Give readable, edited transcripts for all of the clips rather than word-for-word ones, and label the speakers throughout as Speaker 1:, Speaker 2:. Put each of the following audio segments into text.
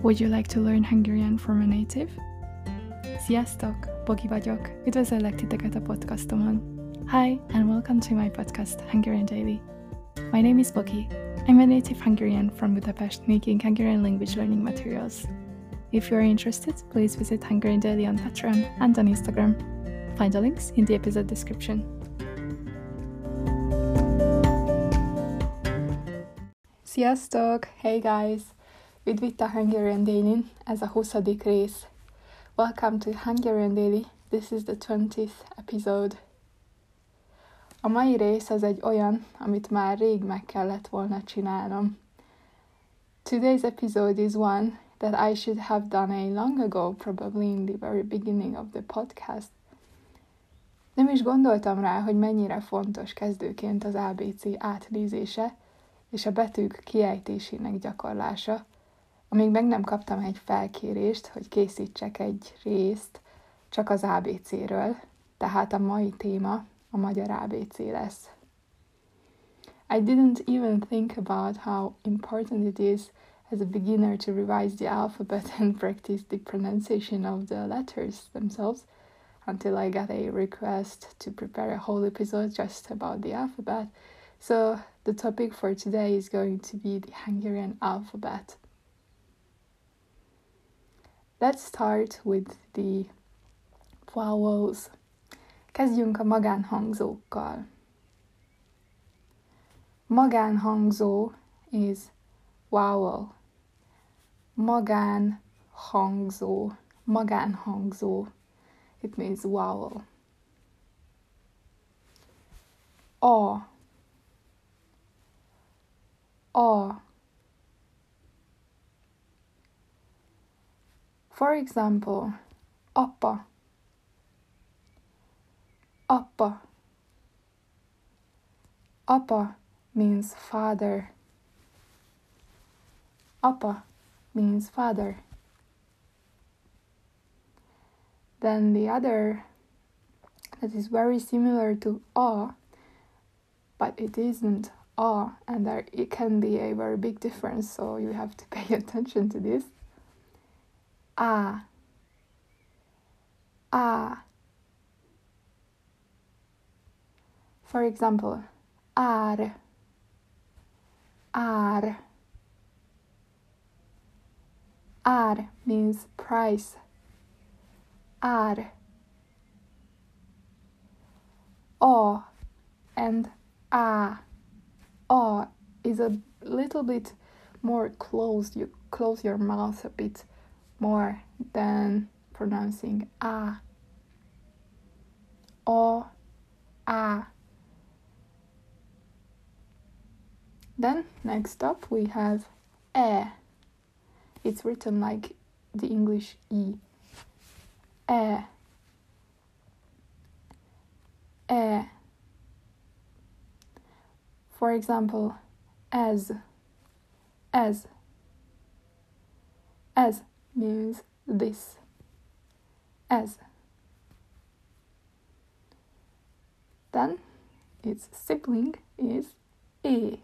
Speaker 1: Would you like to learn Hungarian from a native? Sziasztok! Bogi vagyok. Üdvözöllek titeket a podcastomon. Hi, and welcome to my podcast, Hungarian Daily. My name is Bogi. I'm a native Hungarian from Budapest making Hungarian language learning materials. If you are interested, please visit Hungarian Daily on Patreon and on Instagram. Find the links in the episode description. Sziasztok! Hey guys! Üdv itt a Hungarian Daily-n, ez a 20. rész. Welcome to Hungarian Daily, this is the 20th episode. A mai rész az egy olyan, amit már rég meg kellett volna csinálnom. Today's episode is one that I should have done a long ago, probably in the very beginning of the podcast. Nem is gondoltam rá, hogy mennyire fontos kezdőként az ABC átnézése és a betűk kiejtésének gyakorlása, amíg meg nem kaptam egy felkérést, hogy készítsek egy részt csak az ABC-ről, tehát a mai téma a magyar ABC lesz. I didn't even think about how important it is as a beginner to revise the alphabet and practice the pronunciation of the letters themselves until I got a request to prepare a whole episode just about the alphabet. So the topic for today is going to be the Hungarian alphabet. Let's start with the vowels. Kezdjünk a magánhangzókkal. Magánhangzó is vowel. Magánhangzó. Magánhangzó. It means vowel. A. A. For example, apa. Apa. Apa means father. Apa means father. Then the other that is very similar to a, but it isn't a, and it can be a very big difference, so you have to pay attention to this. A. A. For example, ár. Ár. Ár means price. Ár. A and a. A is a little bit more closed. You close your mouth a bit more than pronouncing a. O, a. Then next up we have e. It's written like the English e. E. E. For example, as. As. As means this. As. Then its sibling is e.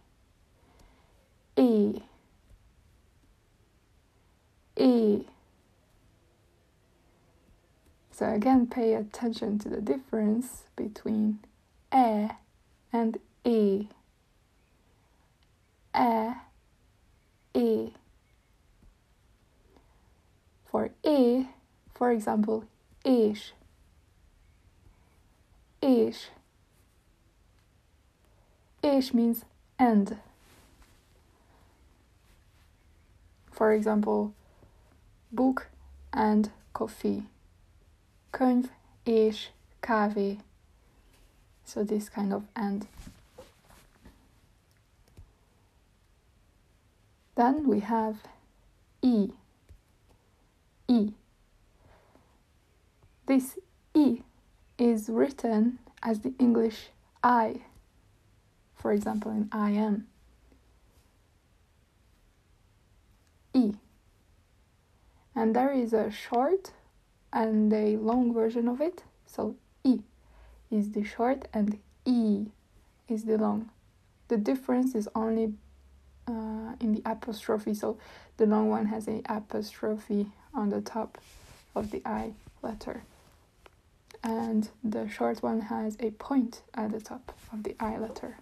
Speaker 1: E. E. So again, pay attention to the difference between e and e. E. E. For e, for example, és. És. És means and. For example, book and coffee. Könyv és kávé. So this kind of and. Then we have e. E. This e is written as the English I. For example, in I am. E. And there is a short and a long version of it. So E is the short and E is the long. The difference is only in the apostrophe. So the long one has a apostrophe on the top of the I letter, and the short one has a point at the top of the I letter.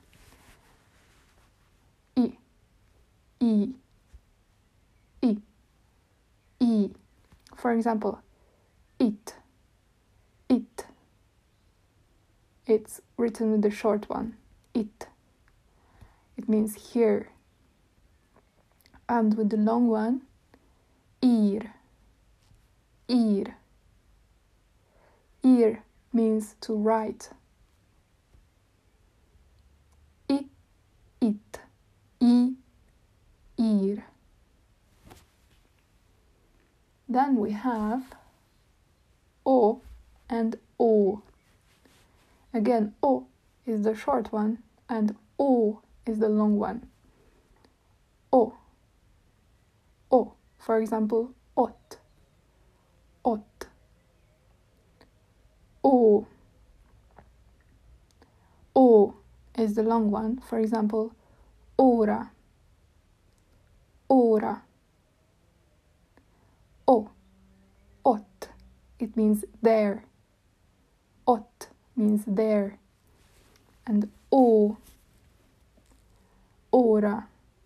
Speaker 1: I, I, I, I. For example, it, it. It's written with the short one, it. It means here. And with the long one, ir, ir. Ir means to write. It, it, I, ir. Then we have O and O. Again, O is the short one and O is the long one. O. O. For example, ot. Ot. O. O is the long one. For example, ora. Ora. O. Ot. It means there. Ot means there. And O. Ora.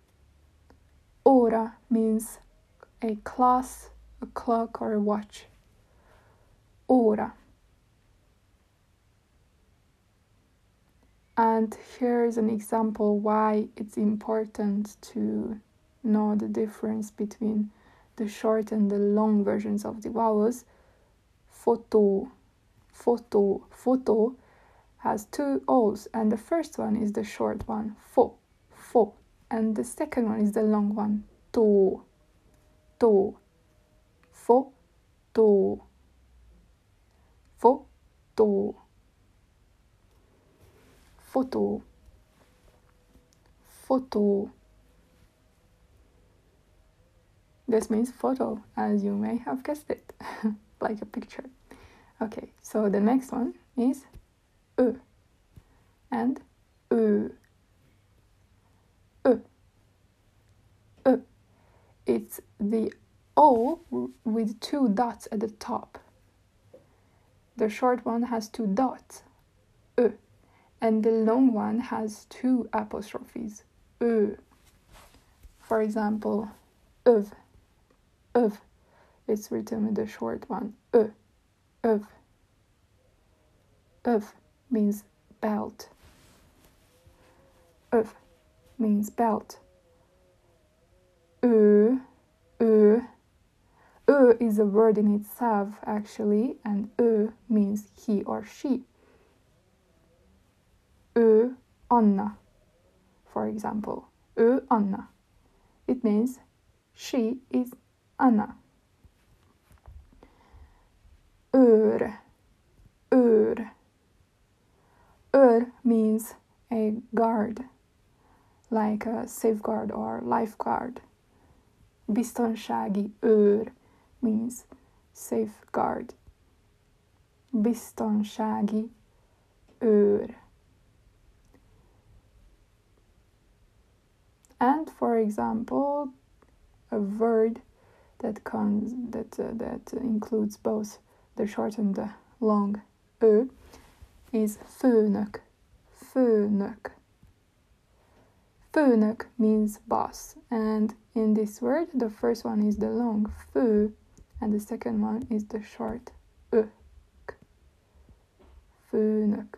Speaker 1: Ora means a class, a clock, or a watch. Ora. And here's an example why it's important to know the difference between the short and the long versions of the vowels. Photo, photo, photo has two O's, and the first one is the short one, fo, fo, and the second one is the long one, to, to, photo, photo, photo, photo. This means photo, as you may have guessed it, like a picture. Okay, so the next one is Ö and Ö. Ö. Ö. It's the O with two dots at the top. The short one has two dots, Ö, and the long one has two apostrophes, Ö. For example, öv, öv. It's written with the short one, Ö, öv. Öv means belt. Öv means belt. Ö, ö. Ö is a word in itself, actually, and Ö means he or she. Ö, Anna, for example. Ö, Anna. It means she is Anna. Őr, őr. Őr means a guard, like a safeguard or lifeguard. Biztonsági őr means safeguard. Biztonsági őr. And for example, a word that includes both the short and the long Ö is főnök. Főnök. Főnök means boss, and in this word, the first one is the long fő, and the second one is the short ök. Főnök.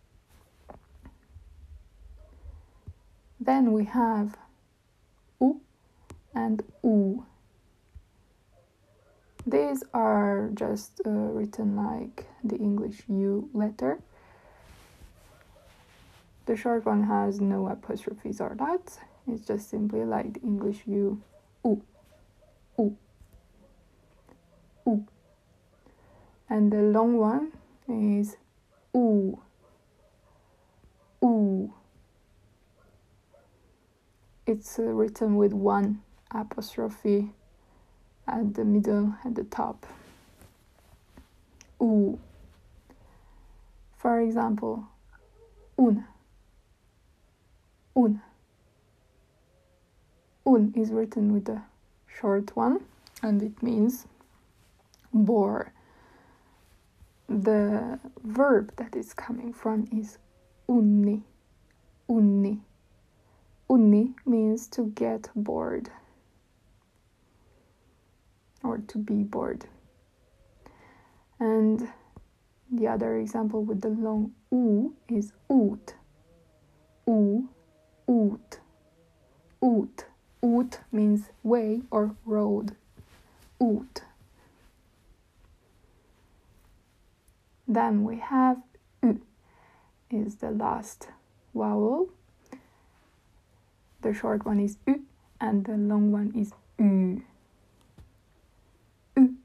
Speaker 1: Then we have U and U. These are just written like the English U letter. The short one has no apostrophes or dots. It's just simply like the English U. U. U. U. And the long one is U. U. It's written with one apostrophe at the middle, at the top. U. For example, un. Un. Un is written with a short one, and it means bore. The verb that is coming from is unni. Unni. Unni means to get bored or to be bored. And the other example with the long u is ut. U, ut, ut. Ut means way or road. Ut. Then we have u, is the last vowel. The short one is u, and the long one is u. U,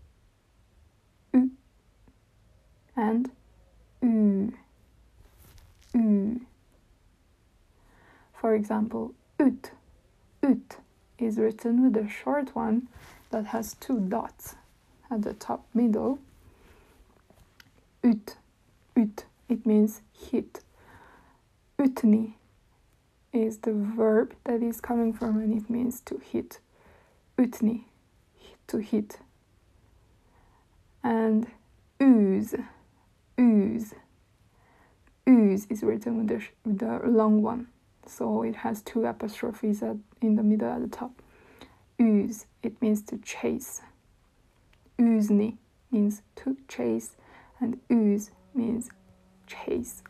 Speaker 1: u, and u, u. For example, ut. Ut is written with a short one that has 2 dots at the top middle. Ut, ut, it means hit. Utni is the verb that is coming from, and it means to hit. Utni, to hit. And ooze, ooze. Ooze is written with the long one, so it has 2 apostrophes in the middle at the top. Ooze, it means to chase. Oozni means to chase, and ooze means chase.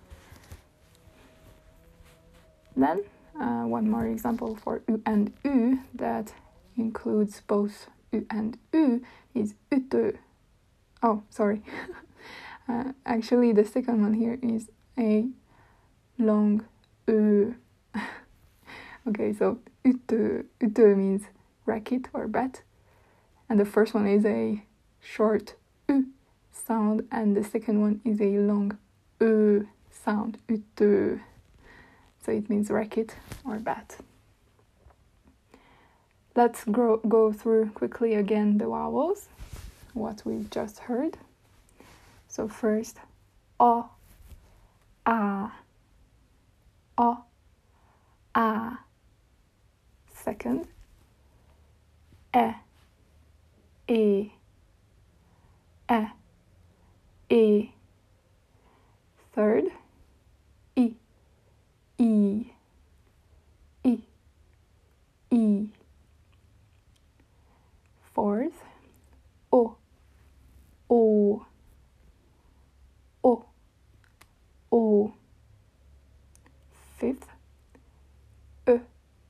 Speaker 1: Then one more example for u and u that includes both u and u is utö. Oh, sorry. Actually, the second one here is a long ö. Okay, so utö means racket or bat, and the first one is a short u sound, and the second one is a long ö sound, utö. So it means racket or bat. Let's go through quickly again the vowels, what we've just heard. So first, o, a, o, a. Second, e, e. Third, I, I. Fourth, o, o. Fifth, ö.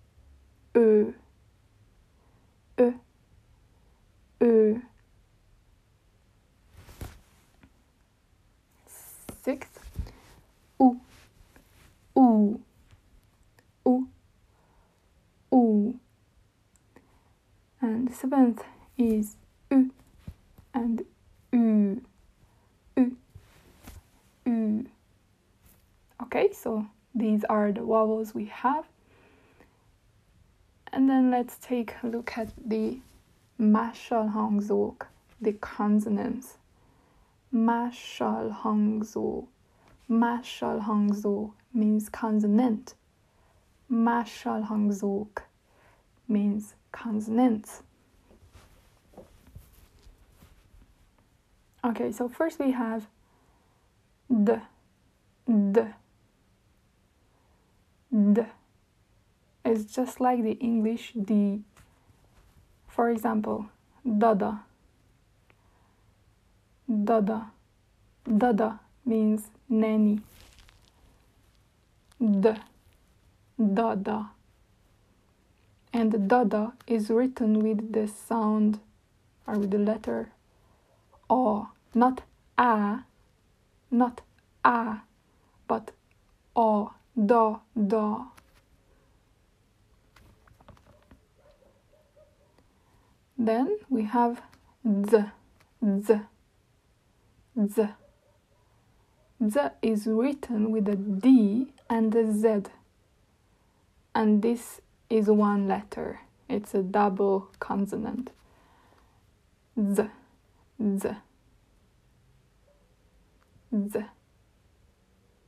Speaker 1: Sixth, u. And seventh is u and u. Okay, so these are the vowels we have. And then let's take a look at the másolhangzók, the consonants. Másolhangzó. Másolhangzó means consonant. Másolhangzók means consonants. Okay, so first we have d. It's just like the English D. For example, dada. Dada means nanny. Dada. And dada is written with the sound or with the letter O, not a, but O, da. Then we have z. Z is written with a D and a Z. And this is one letter. It's a double consonant. Z.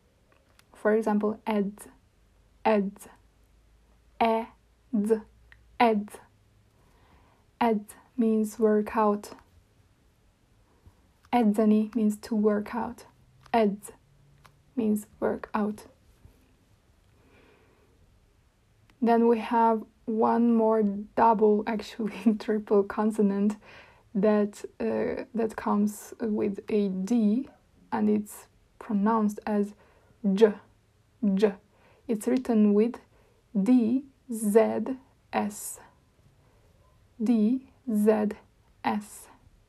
Speaker 1: For example, eds. Eds. Ed. Ed means work out. Edzeni means to work out. Ed means work out. Then we have one more double, actually triple consonant that comes with a D, and it's pronounced as J. J. It's written with D Z S. D Z S.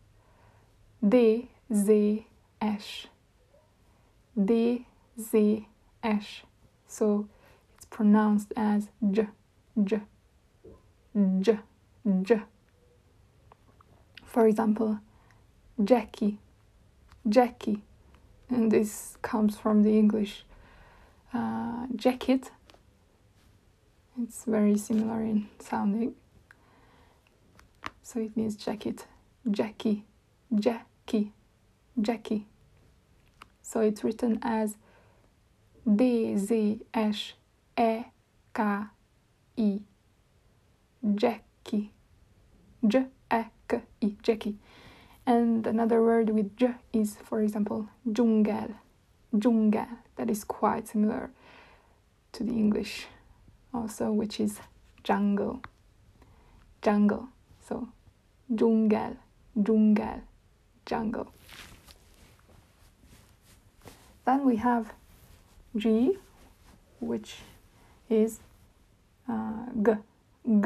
Speaker 1: D Z S. D Z S. So it's pronounced as J. J. J. J. For example, Jackie. Jackie. And this comes from the English jacket. It's very similar in sounding. So it means jacket. Jackie. Jackie. Jackie. So it's written as D-Z-S-E-K-I. Jackie. J-E-K-I. Jackie. And another word with J is, for example, djungel. Djungel. That is quite similar to the English also, which is jungle. Jungle. So, djungel. Djungel. Jungle. Then we have G, which is G. G.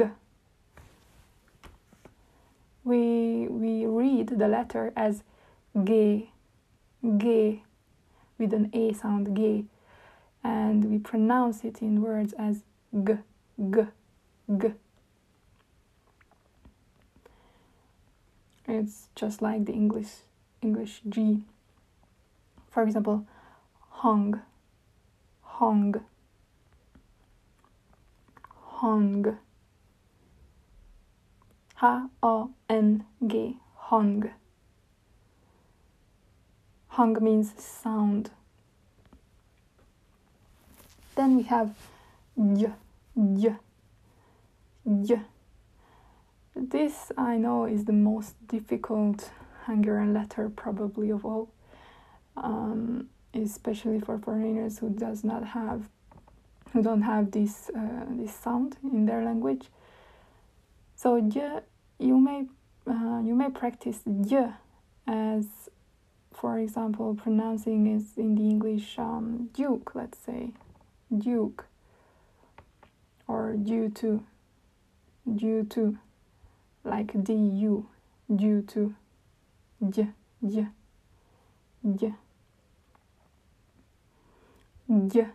Speaker 1: We read the letter as G, G, with an A sound, G, and we pronounce it in words as G, G, G. It's just like the English G. For example, hung, hung, hung. H-O-N-G, hung. Hung means sound. Then we have Y, Y, Y. This, I know, is the most difficult Hungarian letter probably of all, especially for foreigners who don't have this sound in their language. So Y, you may practice Y as, for example, pronouncing it in the English Duke, let's say, Duke, or due to, like D-U, due to, Y, Y, Y, Y.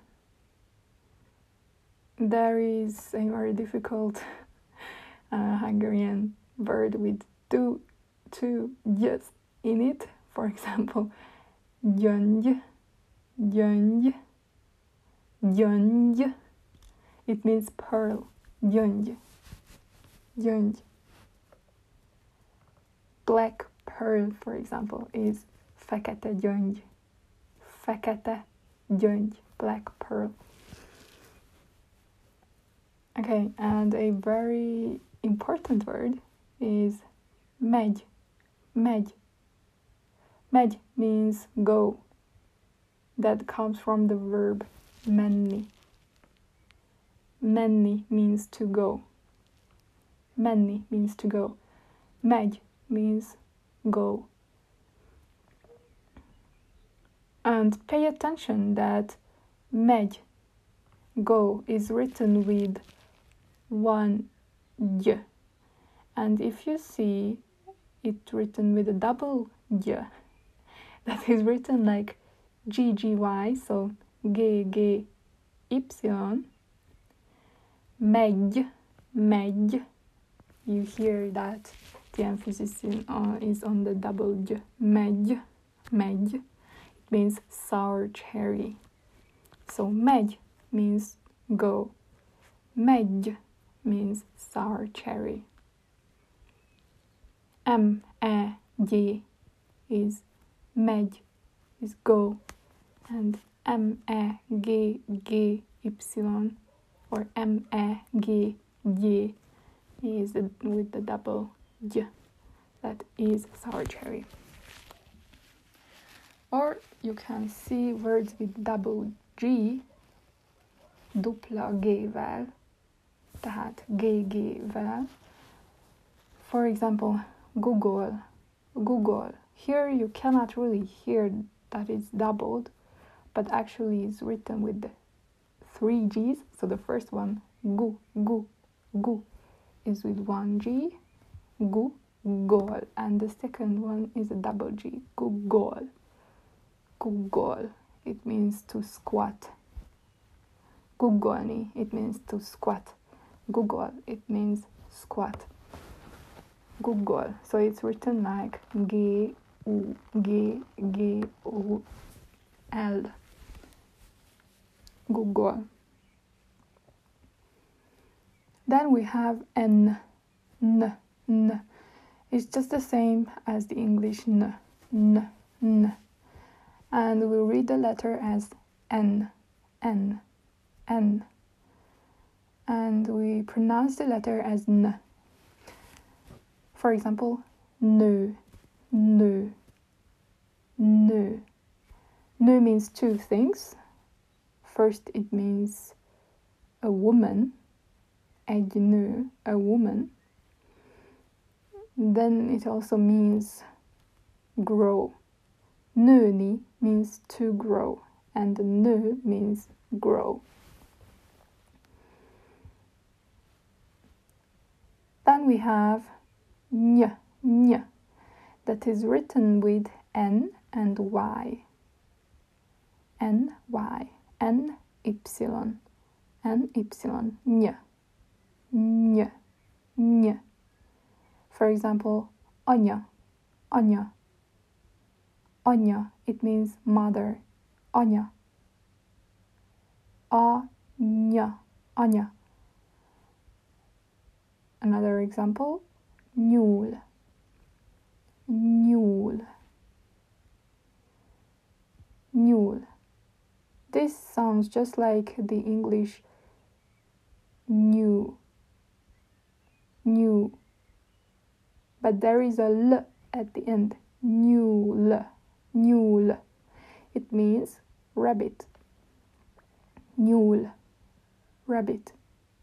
Speaker 1: There is a very difficult Hungarian word with two y's in it. For example, gyöngy, gyöngy, gyöngy. It means pearl. Gyöngy, gyöngy. Black pearl, for example, is fekete gyöngy. Fekete gyöngy, black pearl. Okay, and a very important word is megy. Megy. Megy means go. That comes from the verb menni. Menni means to go. Menni means to go. Megy means go. And pay attention that megy, go, is written with one Y. And if you see it written with a double Y, that is written like GGY, so GGY, megy, megy. You hear that the emphasis is on the double Y. Megy, megy. It means sour cherry. So megy means go. Megy means sour cherry. M-E-G is megy, is go, and M-E-G-G-Y or M-E-G-Y is with the double J. That is sour cherry. Or you can see words with double G, dupla G-vel, tehát GG-vel. For example, Google. Here you cannot really hear that it's doubled, but actually it's written with the 3 G's. So the first one, gu, is with 1 G, Google. And the second one is a double G, Google. It means to squat. Googolni, it means to squat. Google, it means squat. Google. So it's written like G-U-G-G-O-L. Google. Then we have N. It's just the same as the English N. And we read the letter as N. And we pronounce the letter as N. For example, nö. Nö means two things. First, it means a woman. Egy nő, a woman. Then it also means grow. Nőni means to grow, and nő means grow. Then we have ny, that is written with N and Y. N-Y, N-Y, ny. For example, anya, it means mother. Anya. Anya. Another example, nyúl. This sounds just like the English new. But there is a L at the end. Nyúl. It means rabbit. Nyúl. Rabbit.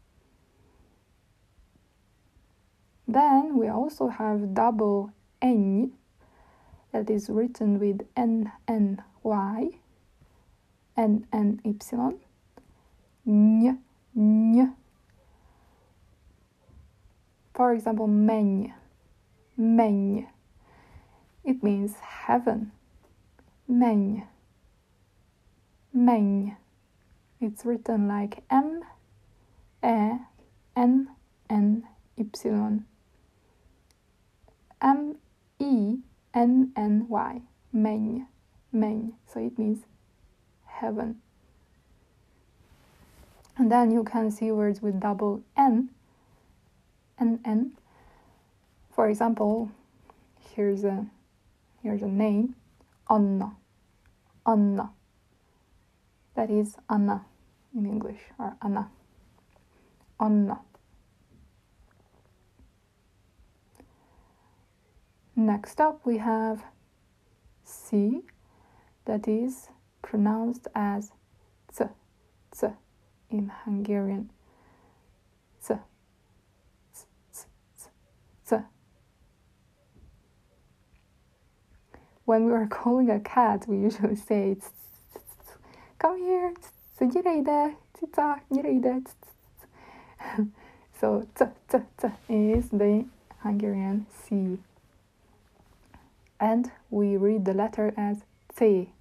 Speaker 1: Then we also have double N, that is written with N-N-Y, N-N-Y, ny. For example, menj. It means heaven. Menj. It's written like M-E-N-N-Y. M-E-N-N-Y. Menj. So it means heaven. And then you can see words with double N. N. For example, here's a name, Anna. That is Anna in English, or Anna. Next up we have C, that is pronounced as ц in Hungarian. ц. When we are calling a cat, we usually say, come here, gyere ide, cica, gyere ide. So, ц is the Hungarian C. And we read the letter as C.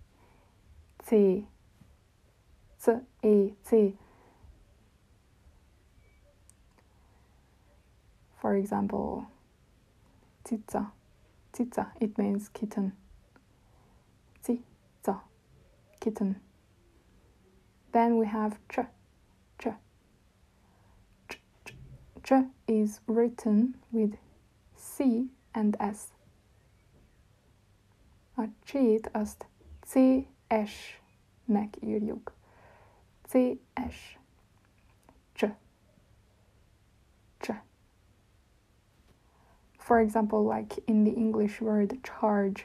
Speaker 1: For example, cica, it means kitten. Cica, kitten. Then we have ch. Ch is written with C and S. A C-t azt CS-nek írjuk. CS. Ch. For example, like in the English word charge.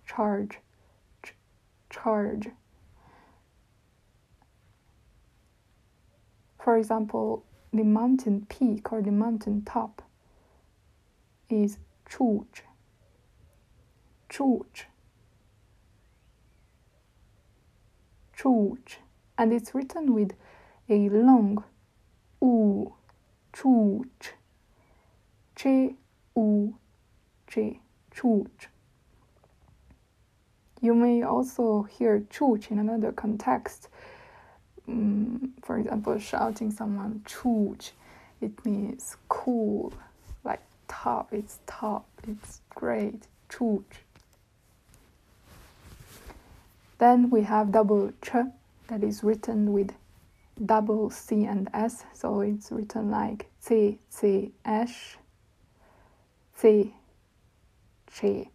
Speaker 1: For example, the mountain peak or the mountain top is csúcs. And it's written with a long u, csúcs. Csúcs. You may also hear csúcs in another context. For example, shouting someone csúcs. It means cool, like top, it's great, csúcs. Then we have double ch, that is written with double C and S, so it's written like C, S, C, ch.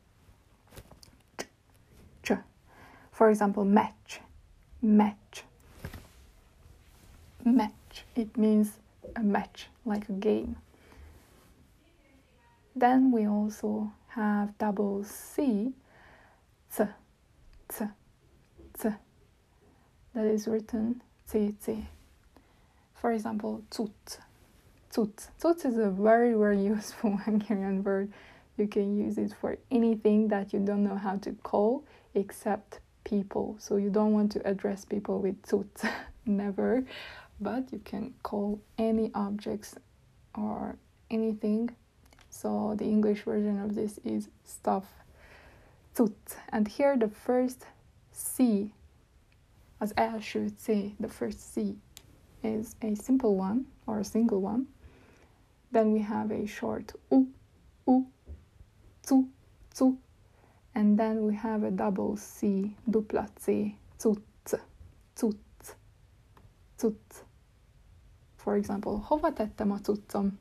Speaker 1: For example, match. It means a match, like a game. Then we also have double C, c. That is written c. For example, cucc. Cucc is a very, very useful Hungarian word. You can use it for anything that you don't know how to call except people. So you don't want to address people with cucc, never. But you can call any objects or anything. So the English version of this is stuff. Cucc. And here the first C, az első C, the first C is a simple one or a single one. Then we have a short U, cu, and then we have a double C, dupla C, cucc. For example, hova tettem a cuccom?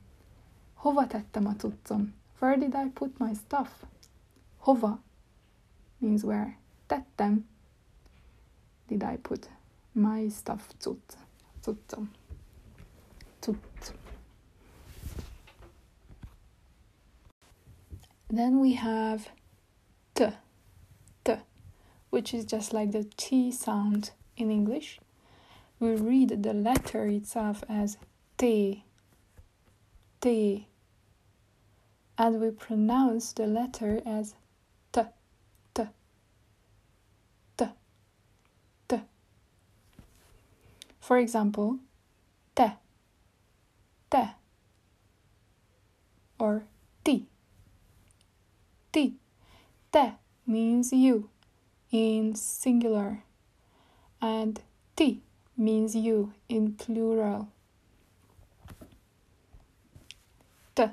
Speaker 1: Where did I put my stuff? Hova means where. Tettem, did I put my stuff? Cuccom. Then we have t, which is just like the T sound in English. We read the letter itself as T, and we pronounce the letter as T. For example, te, or ti. Te means you in singular, and ti means you in plural. T.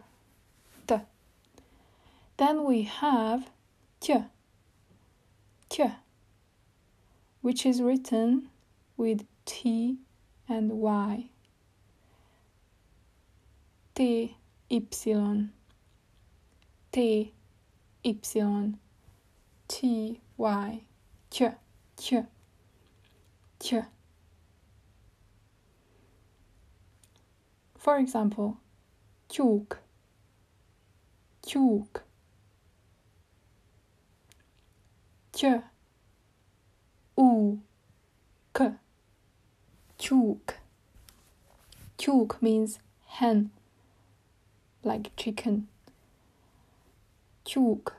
Speaker 1: Then we have ch, which is written with T and Y. T, Y, T, Y, T, Y, ch. For example, tyúk, ty, k, tyúk. Tyúk means hen, like chicken. Tyúk.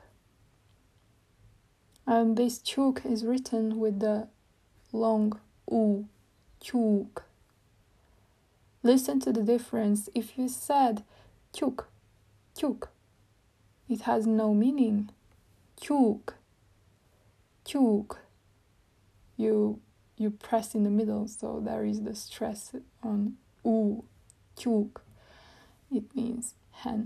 Speaker 1: And this tyúk is written with the long U, tyúk. Listen to the difference. If you said tyúk, it has no meaning. Tyúk. You press in the middle, so there is the stress on U, tyúk. It means hen.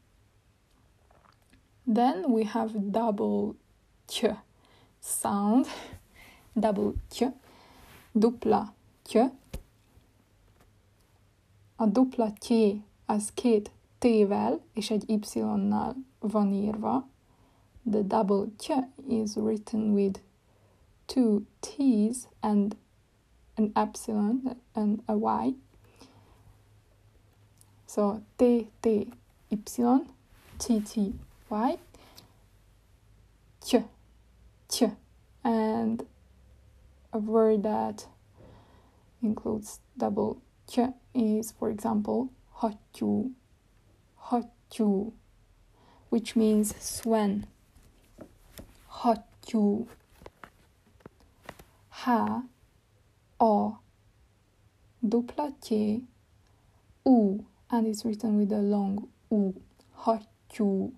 Speaker 1: Then we have double ch sound, double ch, dupla ch. A dupla ty az két t-vel és egy y-nal van írva. The double ch is written with two t's and an epsilon and a y. So t, y, t, Y. Ch, ch. And a word that includes double ch is, for example, hatju, hatju, which means swan. Hatju. Ha, a, dupla t, u, and it's written with a long u. Hatju.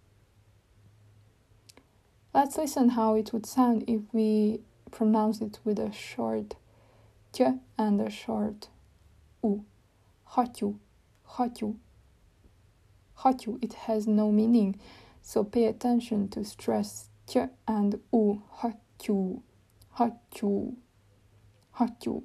Speaker 1: Let's listen how it would sound if we pronounce it with a short ch and a short u. Hatju, hatju, hatju. It has no meaning, so pay attention to stress ch and u. Hatju, hatju, hatju.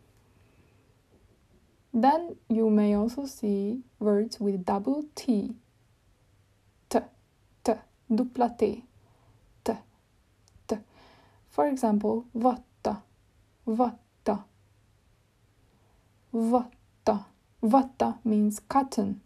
Speaker 1: Then you may also see words with double t. T, t, dupla t. T, t. For example, vatta, vatta, vatta. Vatta means cotton.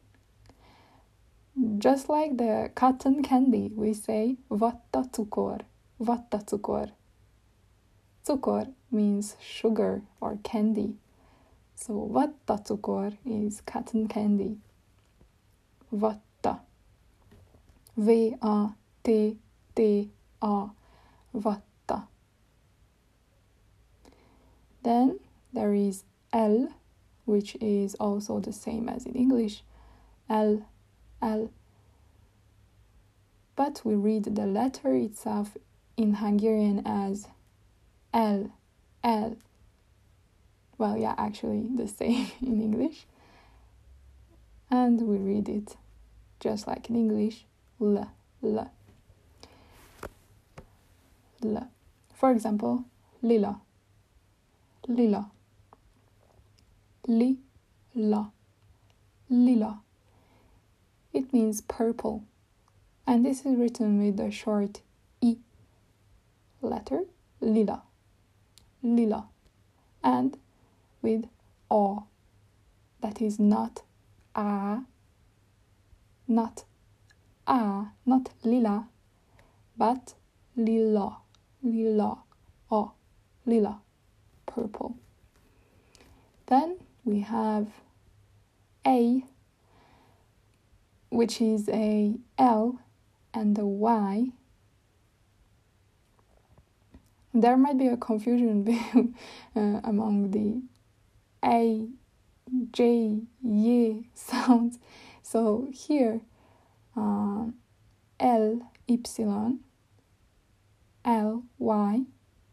Speaker 1: Just like the cotton candy, we say vatta cukor, vatta cukor. Cukor means sugar or candy. So vatta cukor is cotton candy. Vatta. V-A-T-T-A. Vatta. Then there is L, which is also the same as in English. L, L. But we read the letter itself in Hungarian as L, L. Well, yeah, actually the same in English. And we read it just like in English, L, L, L. For example, lila, lila, lila, lila. It means purple. And this is written with the short E letter, lila, lila. And with A. That is not A, not A, not lila, but lila, lila, A, lila, purple. Then we have A, which is a L and a Y. There might be a confusion among the A, J, Y sounds. So here, L, Y, L, Y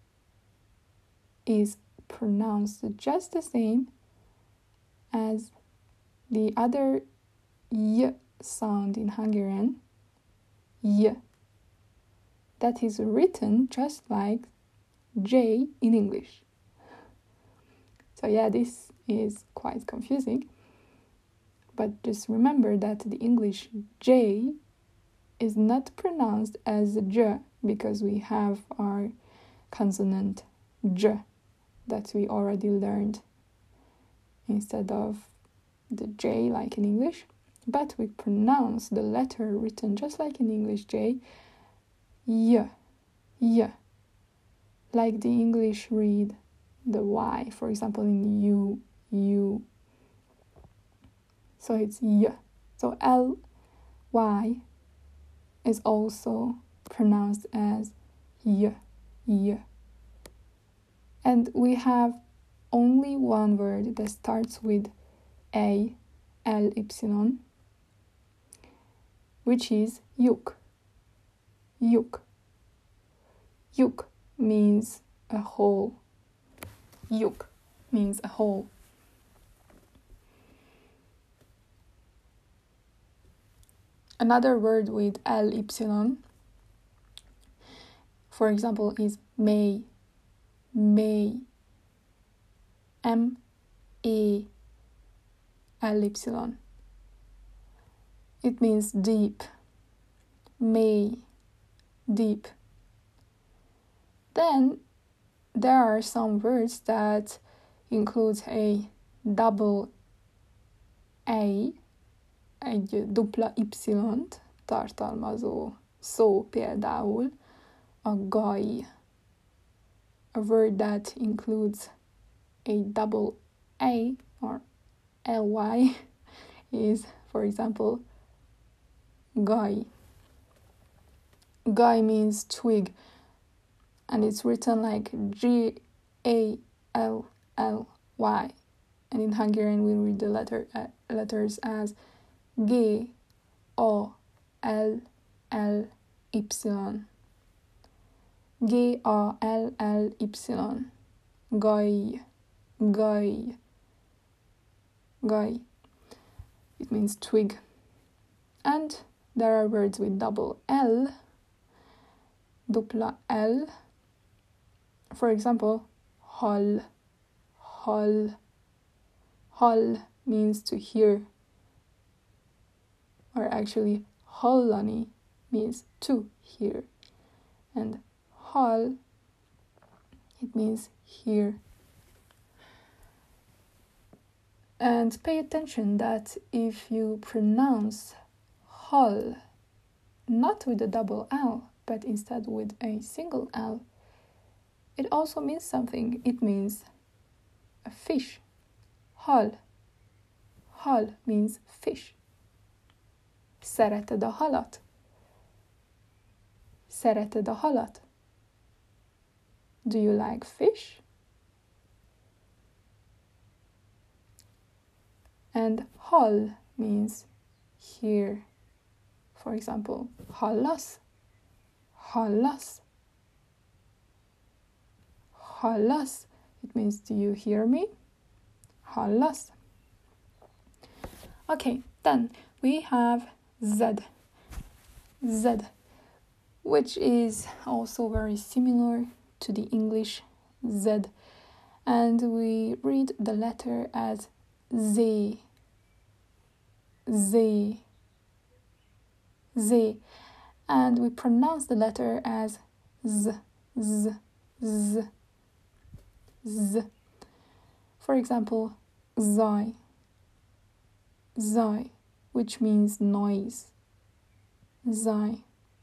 Speaker 1: is pronounced just the same as the other Y sound in Hungarian, Y. That is written just like J in English. So yeah, this is quite confusing. But just remember that the English J is not pronounced as J because we have our consonant J that we already learned instead of the J like in English. But we pronounce the letter written just like in English J, Y, Y. Like the English read the Y, for example, in you, you. So it's Y. So L, Y is also pronounced as Y, Y. And we have only one word that starts with A, L, Y, which is yuk. Yuk. Yuk means a hole. Yuk means a hole. Another word with L-Y, for example, is may. May. M-A-L-Y. It means deep. May. Deep. Then there are some words that include a double A, egy dupla Y, tartalmazó szó például a gaj. A word that includes a double A or ly is, for example, gaj. Gaj means twig, and it's written like Gally. And in Hungarian, we read the letters as Gally. Gally. Gaj. Gaj. Gaj. It means twig. And there are words with double L, dupla L. For example, hall. Hall. Hall means to hear. Or actually, hallani means to hear. And hall, it means hear. And pay attention that if you pronounce hall not with a double L, but instead with a single L, it also means something. It means a fish. Hal. Hal means fish. Szereted a halat? Szereted a halat? Do you like fish? And hall means hear. For example, hallasz? Hallasz? Hallasz? It means, do you hear me? Hallasz? Okay, then we have Z. Z, which is also very similar to the English Z. And we read the letter as Z. Z. Z. And we pronounce the letter as Z. Z. Z. Z. For example, zaj. Zaj, which means noise. Zaj.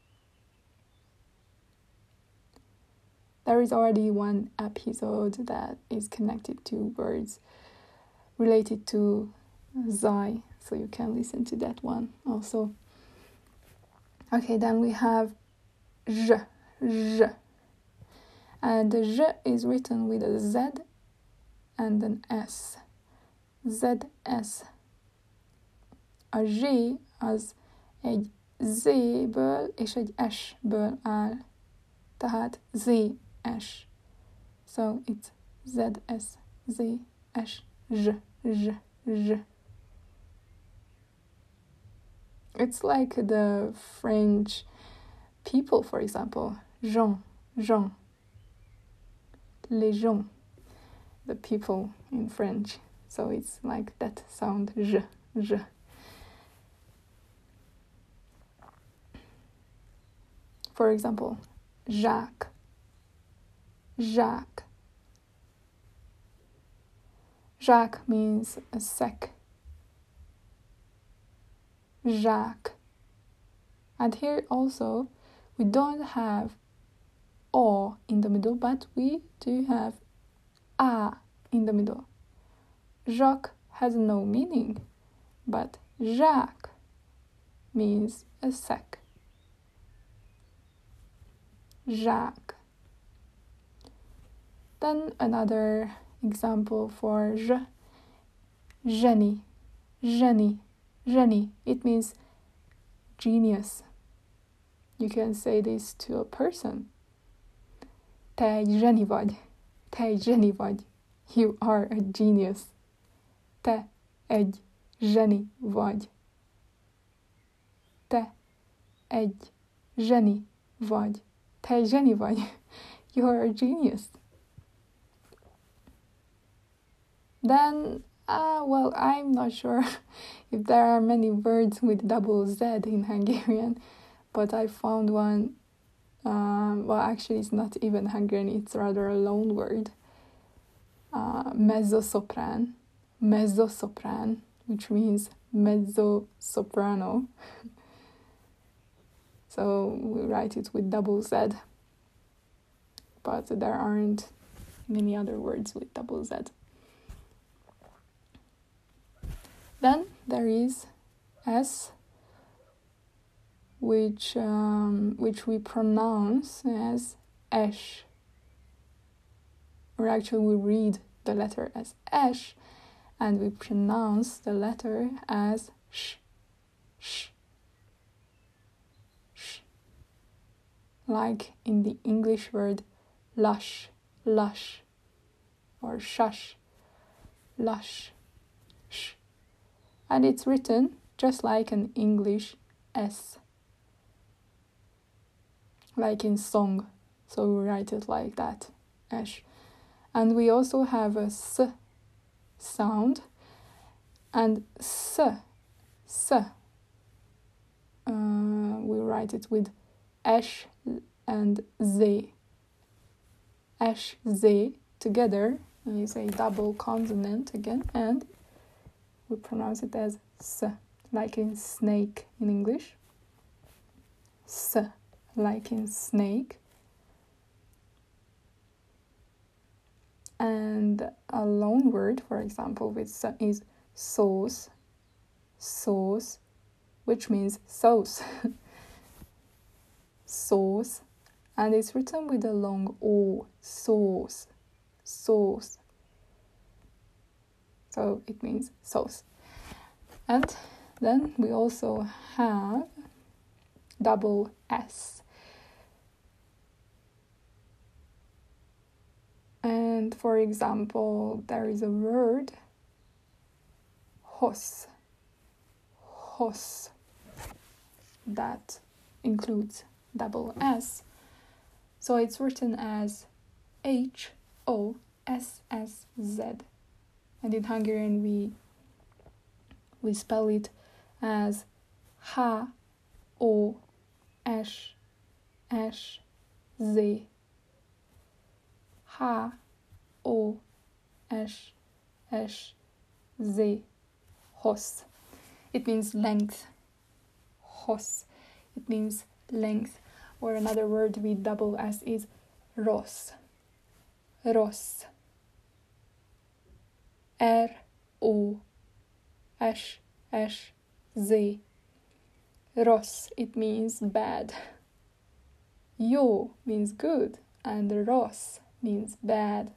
Speaker 1: There is already one episode that is connected to words related to zaj, so you can listen to that one also. Okay, then we have j, j. And the j is written with a Z and an S. ZS. A zs az egy Z-ből és egy S-ből áll. Tehát ZS. So it's ZS, ZS, Z, Z, Z. It's like the French people, for example. Gens, gens. Les gens. The people in French. So it's like that sound, J, J. For example, Jacques, Jacques. Jacques means a sack. Jacques. And here also, we don't have O in the middle, but we do have A in the middle. Jacques has no meaning, but Jacques means a sack. Jacques. Then another example for J, génie, génie, génie. It means genius. You can say this to a person. Te egy zseni vagy. Te egy zseni vagy. You are a genius. Te egy zseni vagy. Te egy zseni vagy. Te egy zseni vagy. You are a genius. Then, well, I'm not sure if there are many words with double Z in Hungarian, but I found one. Well, actually, it's not even Hungarian, it's rather a loan word. Mezzo-soprano, which means mezzo-soprano. so we write it with double Z. But there aren't many other words with double Z. Then there is S, which we pronounce as esh. Or actually we read the letter as esh, and we pronounce the letter as sh, sh, sh. Like in the English word lush, lush, or shush, lush, sh. And it's written just like an English S, like in song. So we write it like that, esh. And we also have a S sound, and S, we write it with esh and Z. Esh, Z together is a double consonant again, and we pronounce it as S, like in snake in English. S, like in snake. And a loan word, for example, with S is sauce, sauce, which means sauce, sauce. And it's written with a long O, sauce, sauce. So it means sauce. And then we also have double S. And for example, there is a word, hos, that includes double S. So it's written as H-O-S-S-Z. And in Hungarian we spell it as H-O-S-S-Z. H-O-S-S-Z. Hos. It means length. Hos. It means length. Or another word with double S is ros. Ros. R-O-S-S-Z. Ros. It means bad. Jó means good, and ros means bad.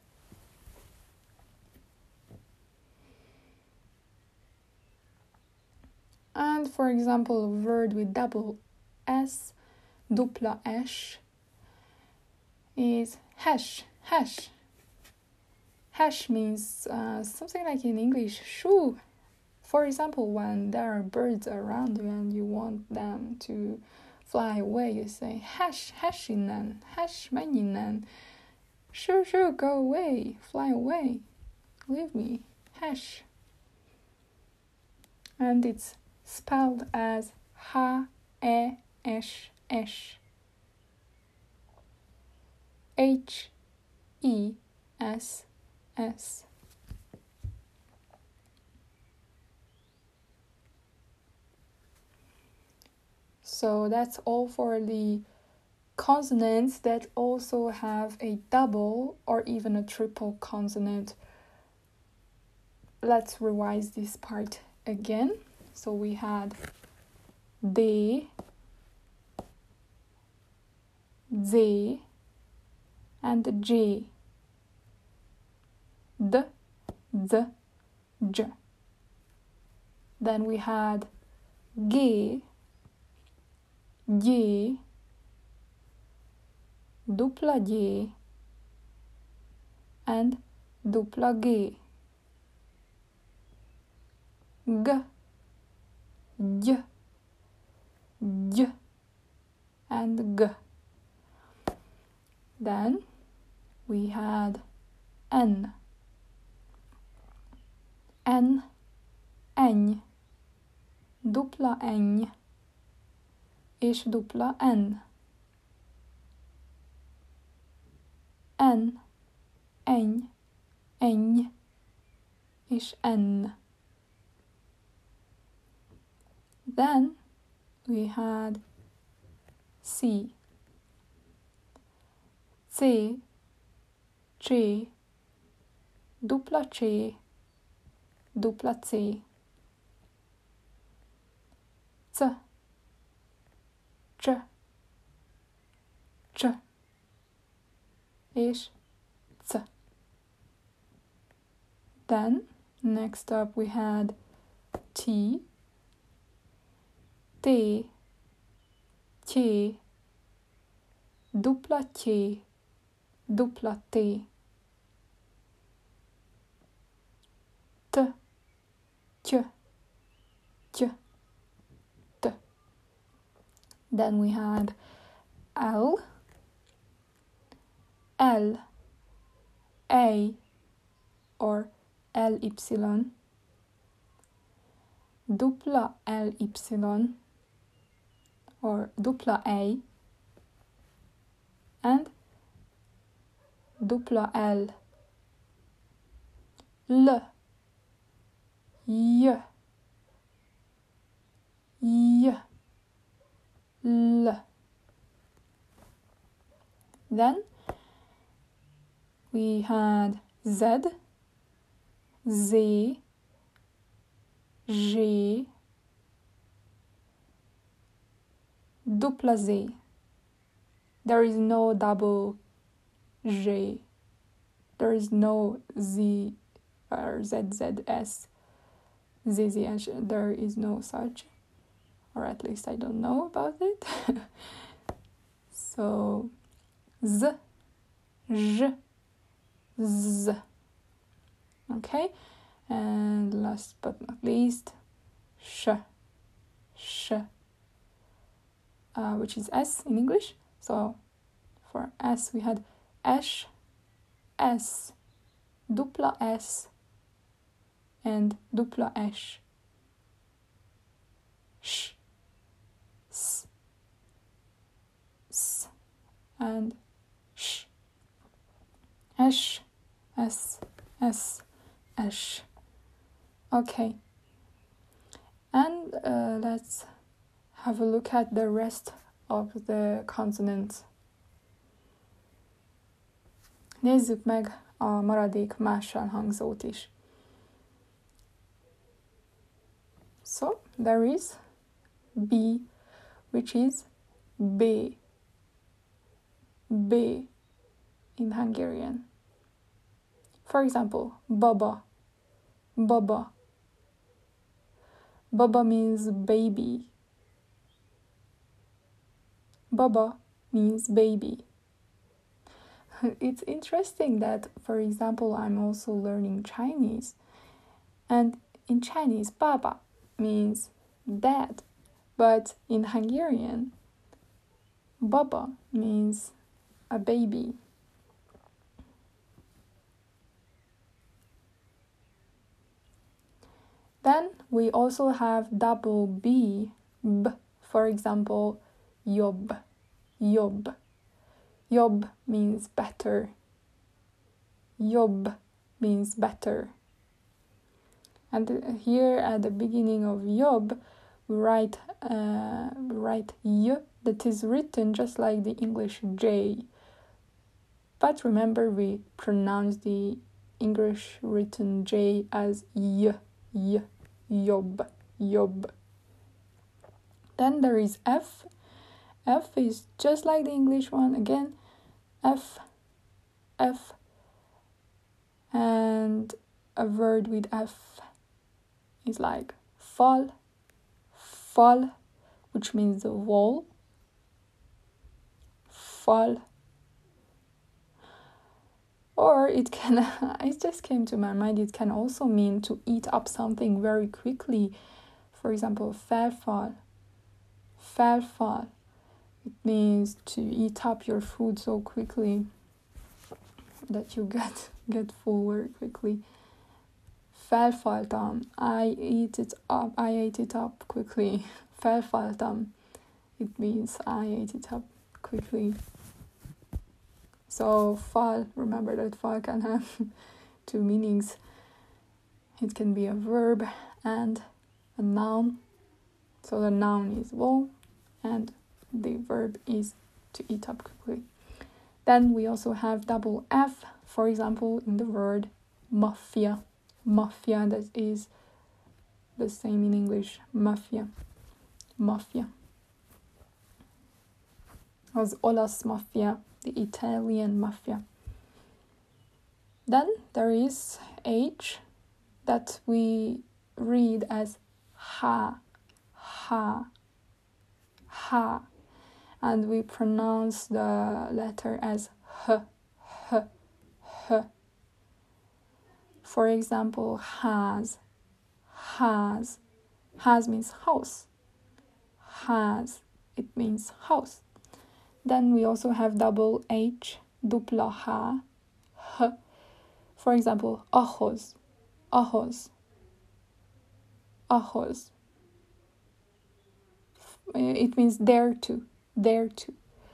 Speaker 1: And for example, a word with double S, dupla S, is hash, hash. Hash means something like in English, shoe. For example, when there are birds around you and you want them to fly away, you say, hash, hash innen, hash, menj innen. Shoo, shoo, go away, fly away, leave me, hash. And it's spelled as H-E-S-S. H-E-S-S. So that's all for the consonants that also have a double or even a triple consonant. Let's revise this part again. So we had D, Z, and J. D, Z, J. Then we had G, G, dupla G, and dupla G. G, J, J, and G. Then we had N, N, Eny, dupla Eny, és dupla N. N, Eny, Eny, és N. Then we had C, C, C, dupla C, dupla C, C, C, C, és C. Then, next up we had T, T, T, dupla T, dupla T, T, T, T, T. Then we had L, L, A, or LY, dupla LY, or dupla A, and dupla L, L, Y, Y, L. Then we had Z, Z, G, dupla Z. There is no double G. There is no Z or ZZS, ZZH. There is no such, or at least I don't know about it. So, Z, J, Z. Okay, and last but not least, sh, sh, which is S in English. So for S we had esh, S, dupla S, and dupla esh, sh, s, s, and sh, esh, S, S, esh. Okay, and let's have a look at the rest of the consonants. Nézzük meg a maradék mással hangzót is. So, there is B, which is B. B in Hungarian. For example, baba, baba. Baba means baby. Baba means baby. It's interesting that, for example, I'm also learning Chinese. And in Chinese, baba means dad. But in Hungarian, baba means a baby. Then we also have double B, B. For example, jobb, jobb. Jobb means better. Jobb means better. And here at the beginning of jobb, we write y, that is written just like the English J. But remember, we pronounce the English written J as y, y, jobb, jobb. Then there is F. F is just like the English one again. F, F, and a word with F is like fall, fall, which means the wall, fall. Or it can, it just came to my mind, it can also mean to eat up something very quickly. For example, fall. It means to eat up your food so quickly that you get full very quickly. Felfaltam. I ate it up quickly. Felfaltam. It means I ate it up quickly. So fall, remember that fall can have two meanings. It can be a verb and a noun. So the noun is wool and the verb is to eat up quickly. Then we also have double F, for example, in the word mafia. Mafia, that is the same in English, mafia. Mafia. Az olasz mafia, the Italian mafia. Then there is H that we read as ha, ha, ha, and we pronounce the letter as h, h, h. For example, has. Has means house. Has, it means house. Then we also have double H, dupla H, h. For example, ahhoz, ahhoz, ahhoz. It means there to, there to.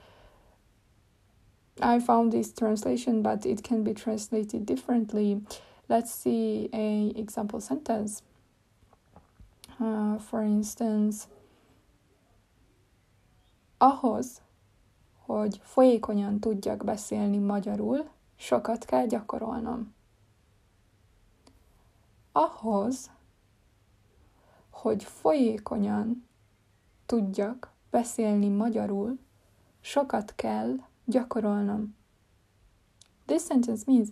Speaker 1: I found this translation, but it can be translated differently. Let's see an example sentence. For instance, ahhoz, hogy folyékonyan tudjak beszélni magyarul, sokat kell gyakorolnom. Ahhoz, hogy folyékonyan tudjak beszélni magyarul, sokat kell gyakorolnom. This sentence means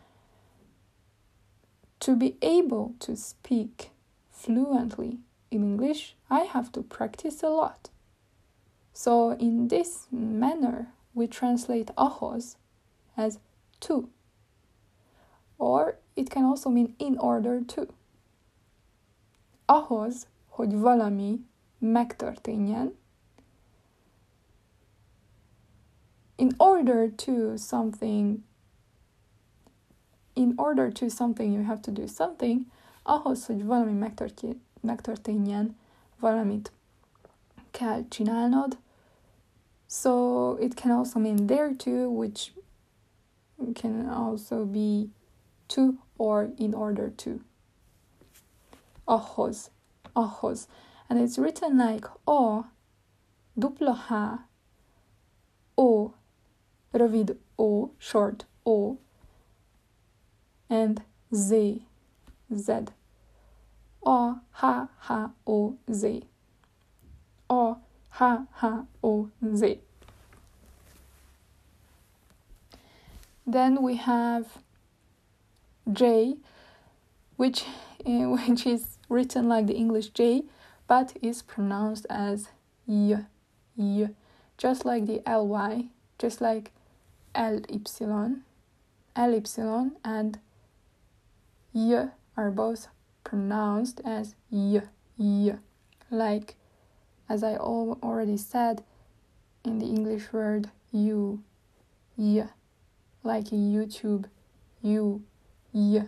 Speaker 1: to be able to speak fluently in English, I have to practice a lot. So in this manner, we translate ahhoz as to. Or it can also mean in order to. Ahhoz, hogy valami megtörténjen, in order to something, you have to do something. Ahhoz, hogy valami megtörténjen, valamit kell csinálnod. So it can also mean there to, which can also be to or in order to. Ahhoz, ahhoz. And it's written like O, dupla H, O, rövid O, short O, and Z, Z. O, H, H, O, Z. O, H, H, O, Z. Then we have J, which is written like the English J, but is pronounced as Y, Y. Just like the ly, just like ly and y are both pronounced as y, y. Like, as I already said, in the English word you, y. Like in YouTube, you, y.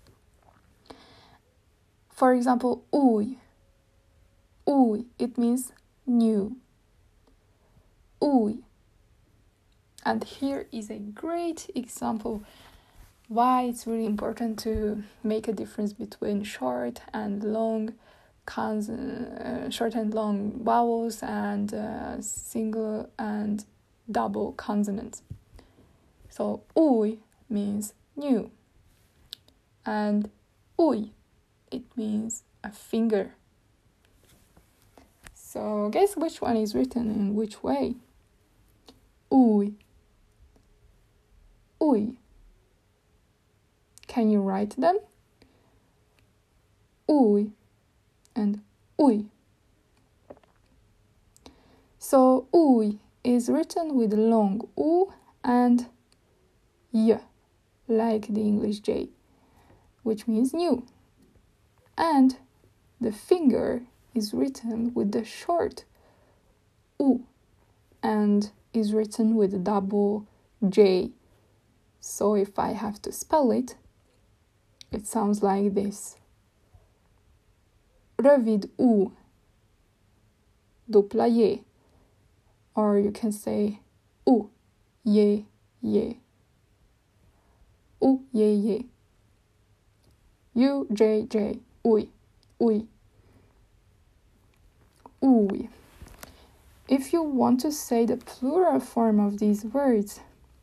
Speaker 1: For example, új, új, it means new. Új. And here is a great example why it's really important to make a difference between short and long vowels and single and double consonants. So új means new, and új, it means a finger. So guess which one is written in which way? Új, új. Can you write them? Új and új. So új is written with long U and Y, like the English J, which means new. And the finger is written with the short U and is written with a double J. So if I have to spell it, it sounds like this. Rövid U, dupla J. Or you can say U, J, J. U, J, J. U, J, J. Új, új. Új. If you want to say the plural form of these words,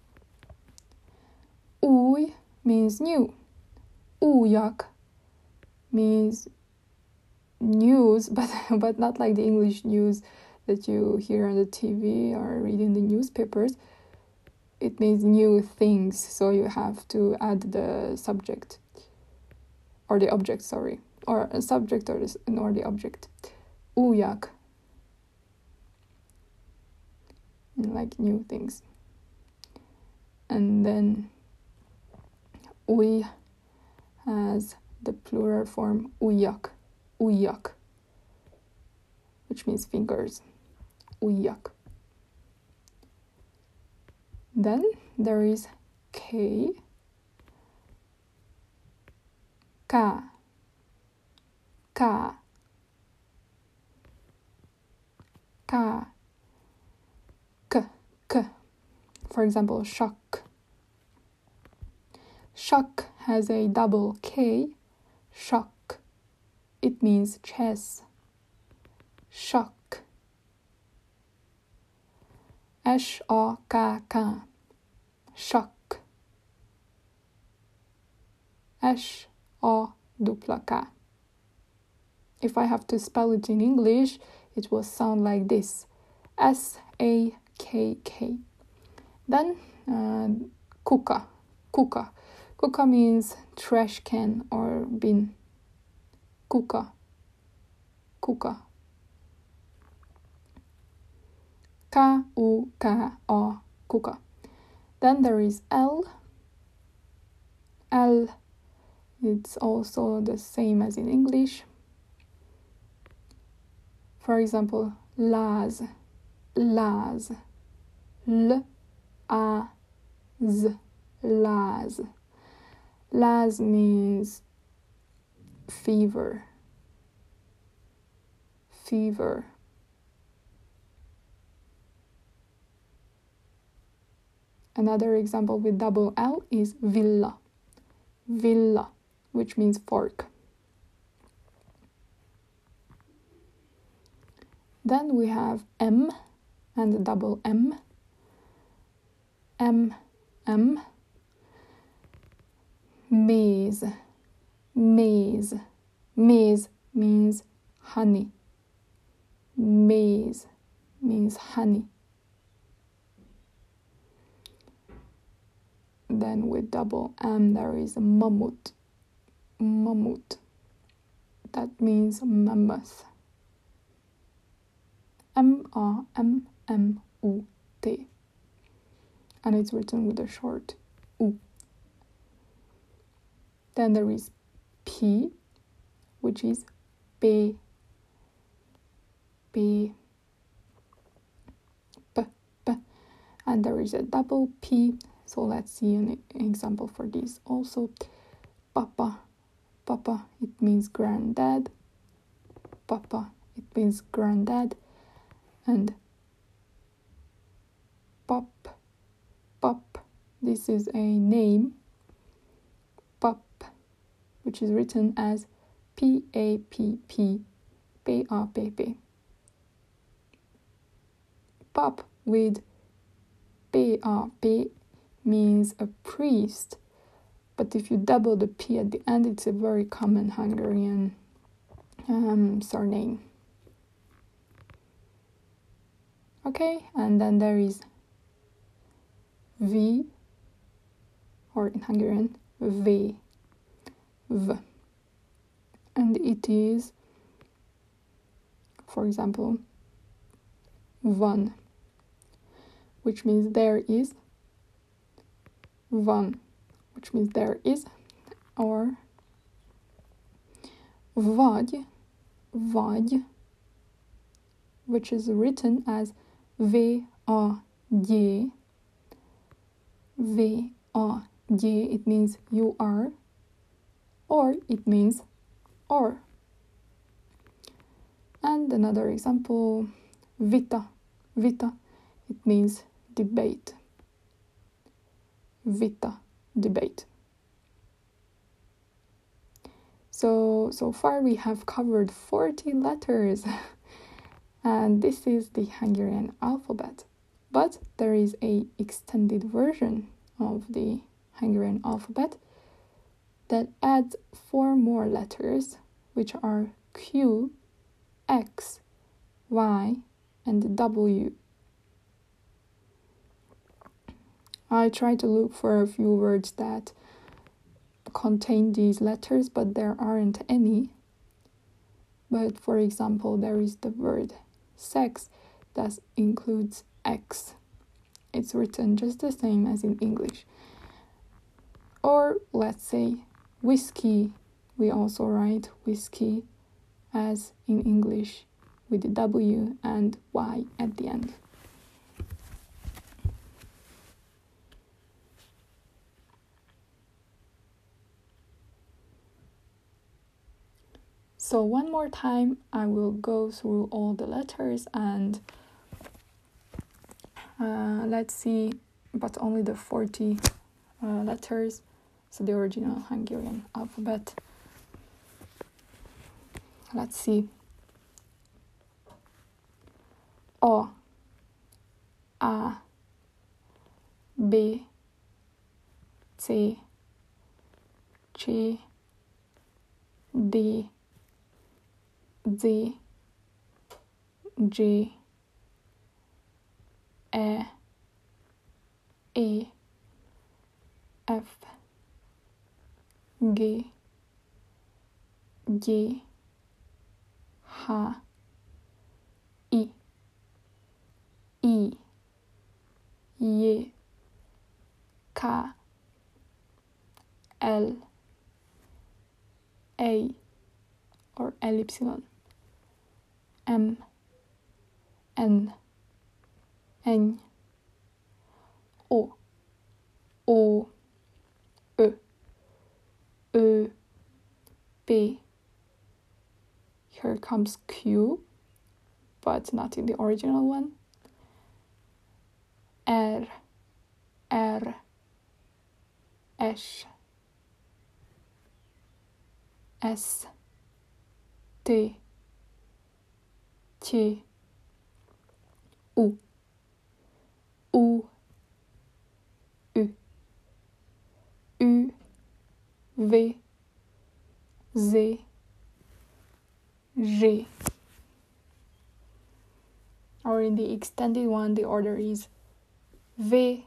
Speaker 1: új means new. Újak means news, but not like the English news that you hear on the TV or read in the newspapers. It means new things, so you have to add the subject or the object, or a subject or the object. Újak, like new things. And then új has the plural form ujjak, ujjak, which means fingers, ujjak. Then there is K, K, K, K, K, K. For example, shock. Shock has a double K, shock. It means chess. Shock. S-A-K-K. Shock. S-A-K-K. If I have to spell it in English, it will sound like this. S-A-K-K. Then, kuka. Kuka. Kuka means trash can or bin. Kuka. Kuka. K-U-K-A. Kuka. Then there is L. L. It's also the same as in English. For example, láz. Láz. L-A-Z. Láz. Láz means fever. Fever. Another example with double L is villa. Villa, which means fork. Then we have M and double M. M. Maize. Maize. Maize means honey. Maize means honey. Then with double M there is mammoth. Mammoth. That means mammoth. M-A-M-M-U-T. And it's written with a short U. Then there is P, which is P. P. P. P. And there is a double P. So let's see an example for this also. Papa. Papa, it means granddad. Papa, it means granddad. And pop. Pop, this is a name. Pop, which is written as P-A-P-P. P-A-P-P. Pop with P-A-P means a priest, but if you double the P at the end, it's a very common Hungarian surname. Okay, and then there is V, or in Hungarian, V. V. And it is, for example, van, which means there is. Van, which means there is, or vagy, which is written as V-A-G. V-A-G, it means you are, or it means or. And another example, vita, it means debate. Vita, debate. So far we have covered 40 letters And this is the Hungarian alphabet. But there is a extended version of the Hungarian alphabet that adds 4 more letters, which are Q, X, Y, and W. I tried to look for a few words that contain these letters, but there aren't any. But for example, there is the word sex that includes X. It's written just the same as in English. Or let's say whiskey. We also write whiskey as in English with the W and Y at the end. So one more time, I will go through all the letters and let's see, but only the 40 letters, so the original Hungarian alphabet. Let's see. O, A, B, C, C, D, Z, G, E, E, F, G, G, H, I, I, J, K, L, A, or LY, M, N, N, O, O, Ö, Ö, P. Here comes Q, but not in the original one. R, R, S, S, T, T, U, U, U, U, V, Z, G. Or in the extended one, the order is V,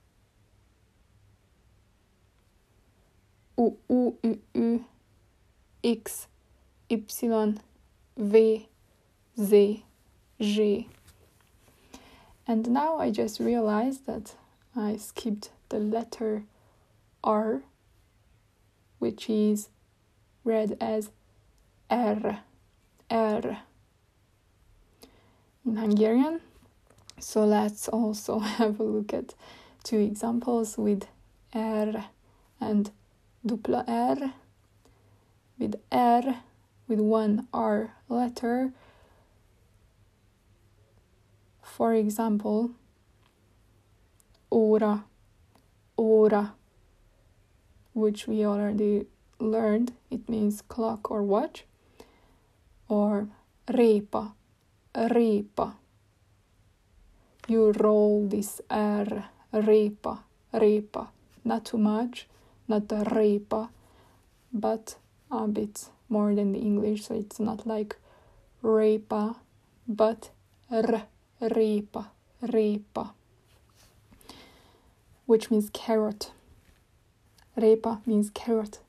Speaker 1: U, U, U, U, X, Y, V, Z, G. And now I just realized that I skipped the letter R, which is read as R, R in Hungarian. So let's also have a look at 2 examples with R and dupla R. With R, with 1 R letter, for example, ora, ora, which we already learned, it means clock or watch, or repa, repa. You roll this R, repa, repa. Not too much, not the repa, but a bit more than the English, so it's not like repa, but repa, repa, which means carrot. Repa means carrot.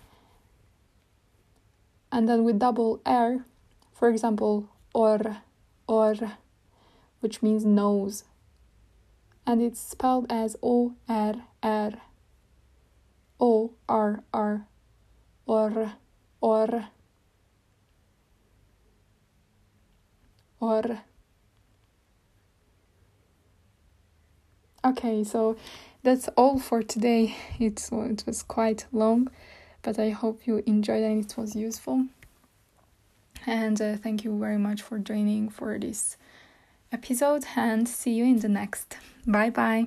Speaker 1: And then with double R, for example, or, which means nose. And it's spelled as O-R-R, O-R-R, or. Okay, so that's all for today. It was quite long, but I hope you enjoyed and it was useful. And thank you very much for joining for this episode, and see you in the next. Bye bye.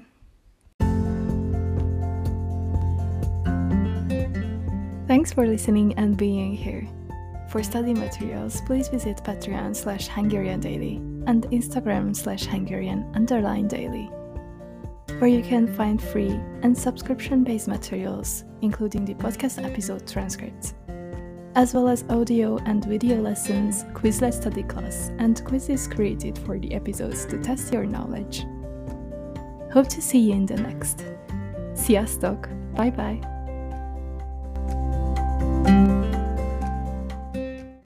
Speaker 1: Thanks for listening and being here. For study materials, please visit Patreon/HungarianDaily and Instagram/Hungarian_daily, where you can find free and subscription-based materials, including the podcast episode transcripts, as well as audio and video lessons, Quizlet study class, and quizzes created for the episodes to test your knowledge. Hope to see you in the next. Sziasztok! Bye bye!